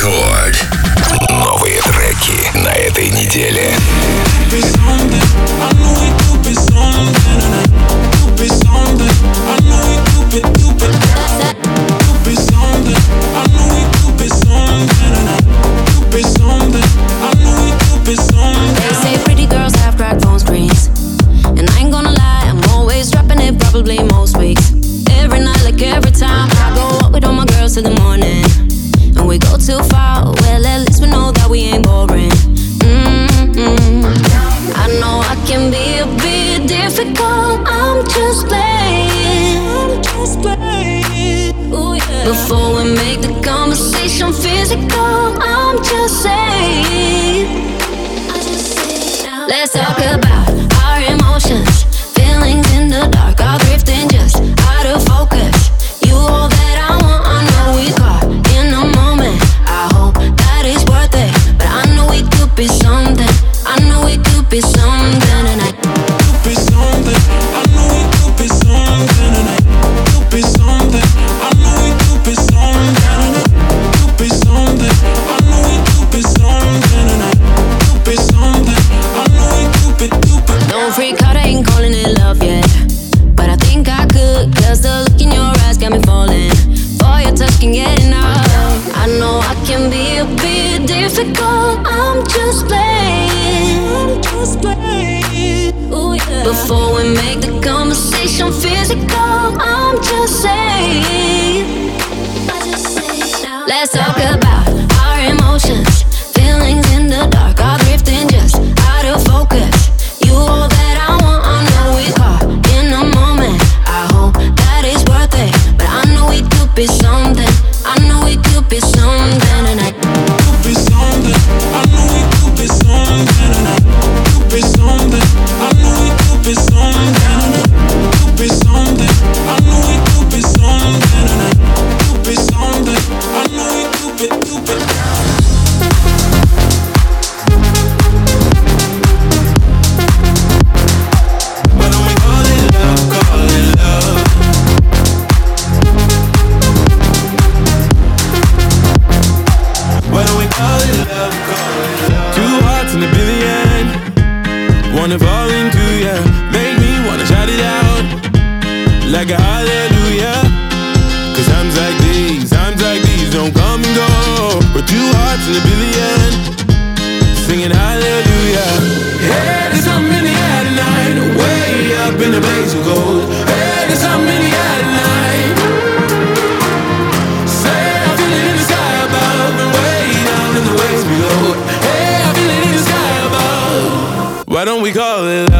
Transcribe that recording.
Рекорд. Новые треки на этой неделе. They say pretty girls have cracked phone screens, and I ain't gonna lie, I'm always dropping it probably most weeks. Every night, like every time, I go out with all my girls till the morning, and we go too far. Well, at least we know that we ain't boring. I know I can be a bit difficult. I'm just playing. Ooh, yeah. Before we make the conversation physical, I'm just saying. Let's talk about our emotions, feelings in the dark, all drifting just out of focus. You all that I want, I know we caught in a moment. I hope that it's worth it, but I know we could be something. I know we could be something tonight. Could be something. I know we could be something tonight. Could be something. I know we could be something tonight. Could be something. I know we could be something tonight. Could be something. I know we could be. Don't freak out, I ain't calling it love yet, but I think I could, 'cause the look in your eyes got me falling for your touch, can get enough. I know I can be a bit difficult. I'm just playing. Ooh, yeah. Before we make the conversation physical, I'm just saying. Let's talk about our emotions, feelings in the dark, all drifting just out of focus. You all that I want, I know we caught in a moment. I hope that it's worth it, but I know we could be something. I know we could be something tonight. Could be something. I know we could be something tonight. Could be something. I know we could be something tonight. Could be something. I know we could be something tonight. Could be something. I know we could be. Wanna fall into ya, make me wanna shout it out like a hallelujah. 'Cause times like these don't come and go. We're two hearts in a billion, singing hallelujah. Hey, there's something in the air tonight, way up in the blaze of gold. Hey, there's something in the air tonight. Say I feel it in the sky above and way down in the waves below. Hey, I feel it in the sky above. Why don't we call it